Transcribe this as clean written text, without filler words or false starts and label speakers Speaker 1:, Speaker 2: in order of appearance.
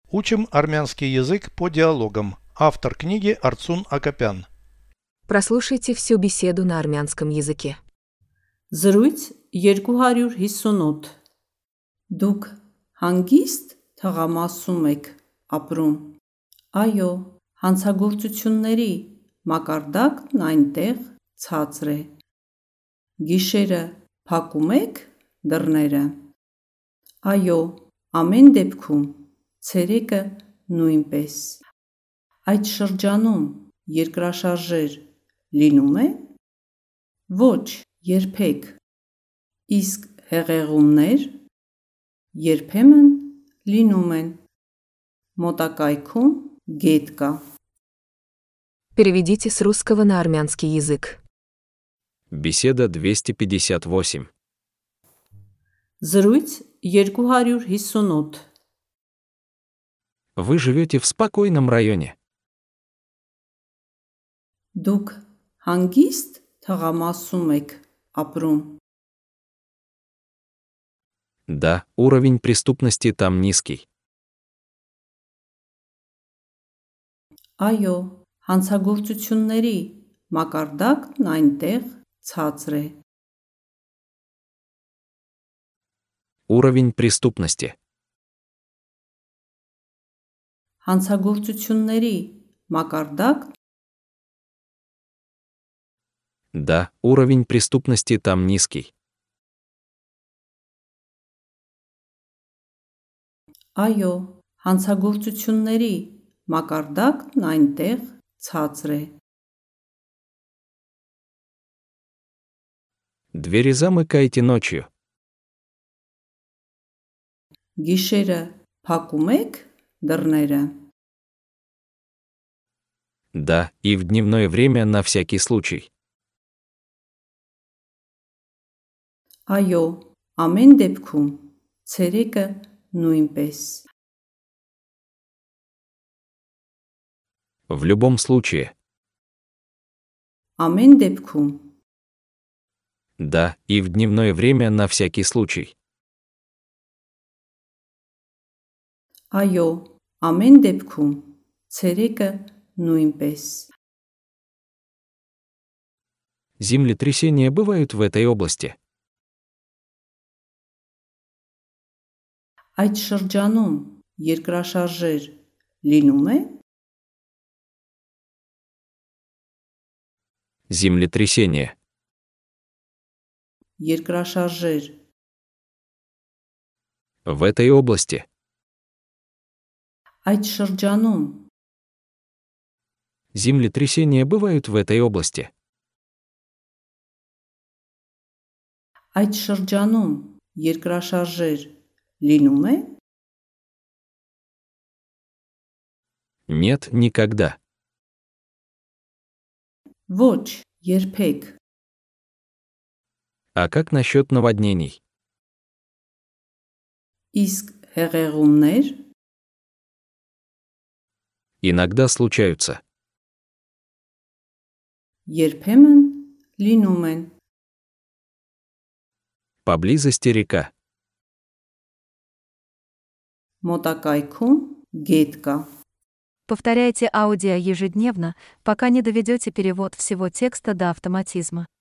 Speaker 1: Учим армянский язык по диалогам. Автор книги Арцун Акопян.
Speaker 2: Прослушайте всю беседу на армянском языке.
Speaker 3: Զրույց 258 Դուք հանգիստ թղամասում եք ապրում։ Այո, հանցագործությունների մակարդակն այնտեղ ցածր է։ Գիշերը փակում եք դռները։ Այո, ամեն դեպքում ցերեկը նույնպես։ Այդ շրջանում երկրաշարժեր լինում է։ Ոչ, երբեք։ Իսկ հեղեղումներ երբեմն լինում են։ Մոտակայքում գետ կա։
Speaker 2: Переведите с русского на армянский язык.
Speaker 4: Беседа 258.
Speaker 3: Զրույց 258
Speaker 4: Вы живете в спокойном районе.
Speaker 3: Դուք հանգիստ թղամասում եք ապրում։
Speaker 4: Да, уровень преступности там низкий.
Speaker 3: Այո, հանցագործությունների մակարդակն այնտեղ ցածր է։
Speaker 4: Уровень преступности.
Speaker 3: Հանցագործությունների մակարդակ
Speaker 4: Да, уровень преступности там низкий.
Speaker 3: Այո, հանցագործությունների մակարդակն այնտեղ ցածր է։
Speaker 4: Двери замыкаете ночью.
Speaker 3: Գիշերը փակում եք դռները։
Speaker 4: Да, и в дневное время на всякий случай.
Speaker 3: Այո, ամեն դեպքում ցերեկը նույնպես։
Speaker 4: В любом случае.
Speaker 3: Ամեն դեպքում
Speaker 4: Да, и в дневное время на всякий случай.
Speaker 3: Այո, ամեն դեպքում ցերեկը նույնպես։
Speaker 4: Землетрясения бывают в этой области.
Speaker 3: Այդ շրջանում երկրաշարժեր լինում է։
Speaker 4: Землетрясение.
Speaker 3: Երկրաշարժեր
Speaker 4: В этой области.
Speaker 3: այդ շրջանում
Speaker 4: Землетрясения бывают в этой области.
Speaker 3: այդ շրջանում երկրաշարժեր լինում է։
Speaker 4: Нет, никогда.
Speaker 3: Ոչ, երբեք։
Speaker 4: А как насчет наводнений?
Speaker 3: Իսկ հեղեղումներ
Speaker 4: Иногда случаются.
Speaker 3: երբեմն լինում են։
Speaker 4: Поблизости река.
Speaker 3: Մոտակայքում գետ կա։
Speaker 5: Повторяйте аудио ежедневно, пока не доведете перевод всего текста до автоматизма.